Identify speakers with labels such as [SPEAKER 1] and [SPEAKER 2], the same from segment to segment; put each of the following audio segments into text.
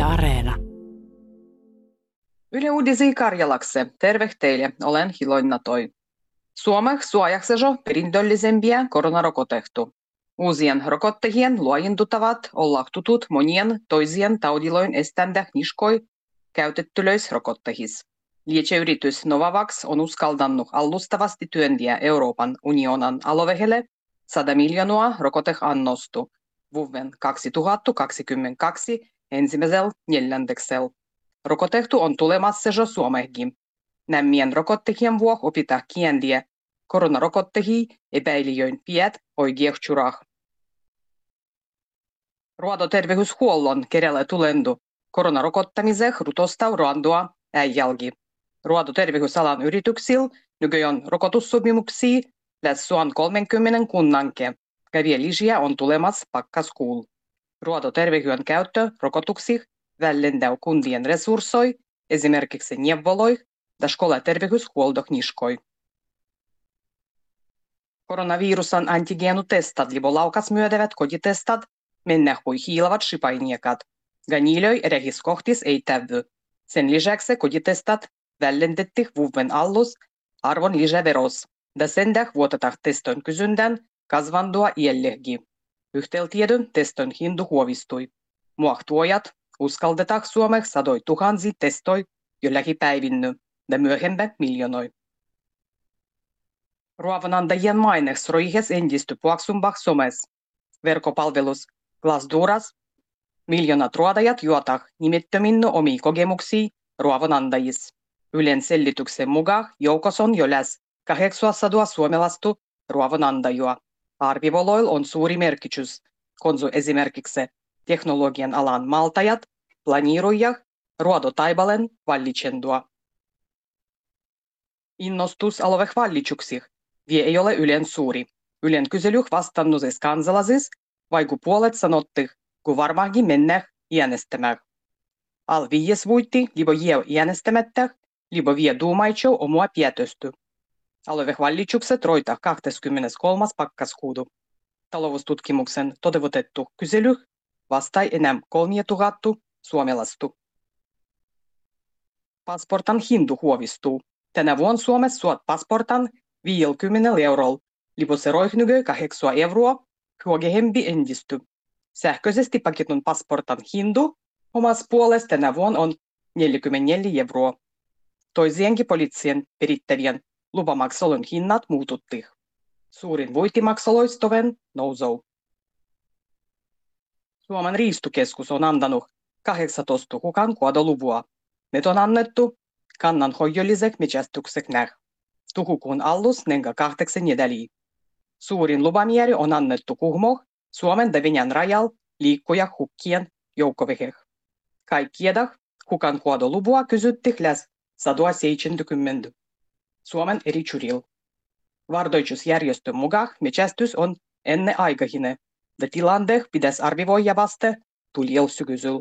[SPEAKER 1] Yle Areena.
[SPEAKER 2] Yle Uudisi Karjalakse. Terve teille, olen Hiloina Toi. Suomessa suojaksejo perintöllisempiä koronarokotehtu. Uusien rokottajien luojintuttavat olla tutut monien toisien taudiloin eständä niskoi käytettylöis rokottahis. Lietseyritys Novavax on uskaldannut allustavasti työntiä Euroopan unionan alovehelle 100 miljoonaa rokoteannostu vuoden 2022 ensimmäisellä neljänneksellä. Rokotehtu on tulemassa jo Suomeenkin. Nämmien rokottajien vuoksi opitaan kiendiä koronarokottahia epäilijöin piet oikeuksjurah. Ruodoterveyshuollon kerellä tulendu koronarokottamiseen rutostau ruandua äijälgi. Ruodoterveysalan yrityksillä nykyään rokotussopimuksia lähes 30 kunnanke. Kävielisiä on tulemassa pakkaskuul. Ruodoterveyden käyttö rokotuksih vällendää kundien resurssoi, esimerkiksi neuvoloi ja skolaterveyshuoltohniskoi. Koronavirusan antigeenutestat libo laukas myödevät kotitestat mennä hui hiilavat shipainiakat. Ganilöi rehiskohtis ei tävy. Sen lisäksi kotitestat vällendettih vuoden allus arvon lisäveros. Ja sen vuotetaan teston kysyndän kasvandua iällehgi. Yhteltiedon teston hindu huovistui. Muahtuojat uskaldetaan Suomeksi sadoi tuhansi testoi jollakin päivinny ja myöhempä miljoonoi. Ruoanantajien maineks roihes endisty puaksumbah somes. Verkkopalvelus Glassdooras miljoonat ruodajat juotah nimettöminno omia kokemuksia ruoanantajis. Ylen selityksen mukaan joukossa on jo lähes 800 suomalaista ruoanantajua. Arvivoloil on suuri merkitys, konsu esimerkiksi teknologian alan maltajat, planiiroijah, ruodotaibalen vallitsendua. Innostus aloveh vallitsuksih vie ei ole Ylen suuri. Ylen kyselyh vastannusis kansalasis vaiku puolet sanottih, kun varmaankin mennäh äänestämään. Al 5 vuotti libo jeu äänestämättä, libo vie duumaitsou omua päätösty. Aloveh vallitsukset roitah 23. pakkaskuudu. Taloustutkimuksen toteutettu kyselyh vastai enää 3000 suomalaistu. Pasportan hindu huovistuu. Tänä vuonna Suomessa suot pasportan 50 eurolla, libo se roihnygö 8 euroa, huogehempi endisty. Sähköisesti paketun pasportan hindu omassa puolesta tänä vuonna on 44 euroa. Toisienkin poliittien perittävien lupamaksolun hinnat muututtih. Suurin voitimaksoloistoven nousou. Suomen riistukeskus on antanut 18 hukan kuodoluvua. Ne on annettu kannanhoidollisek metsästyksek näh. Tuhukuun allus nenga 8 nedäliä. Suurin lupamieri on annettu Kuhmoh Suomen ja Venäjän rajal liikkuja hukkien joukkoveheh. Kaikkiedah hukan kuodoluvua kysyttih läs 170 Suomen eri churil. Vardoitusjärjestön mukaan metsästys on enneaikainen ja tilandeh pitäisi arvioida vasta tulielsykysyl.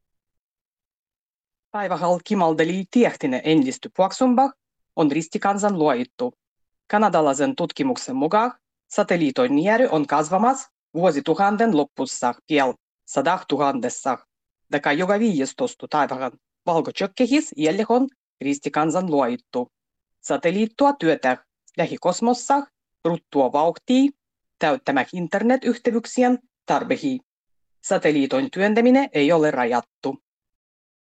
[SPEAKER 2] Päivähal kimaldeli tiehtinen endisty puaksumbah on ristikansan luoittu. Kanadalaisen tutkimuksen mukaan satelliitoin nieri on kasvamassa vuosituhannen loppussa piel 100 000. Ja joka 15 päivähän valkotsökkehis jäljellä on ristikansan luoittu. Satelliittua työtä lähikosmossa ruttua vauhtia täyttämään internetyhteyksien tarpeisiin. Satelliitoin työntäminen ei ole rajattu.